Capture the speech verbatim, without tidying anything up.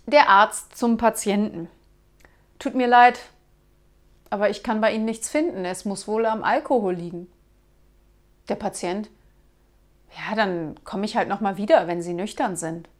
Der Arzt zum Patienten. Tut mir leid, aber ich kann bei Ihnen nichts finden. Es muss wohl am Alkohol liegen. Der Patient. Ja, dann komme ich halt noch mal wieder, wenn Sie nüchtern sind.